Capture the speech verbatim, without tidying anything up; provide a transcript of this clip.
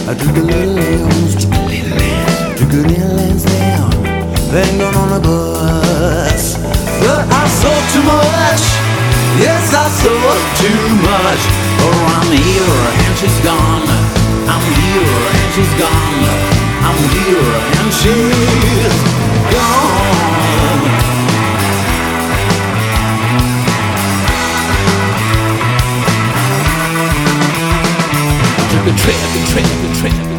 I took a little lambs, took a little lambs, took a little lambs down, then gone on a bus. But I saw too much, yes I saw too much. Oh, I'm here and she's gone, I'm here and she's gone, I'm here and she's gone. Took a trip, a trip, a trip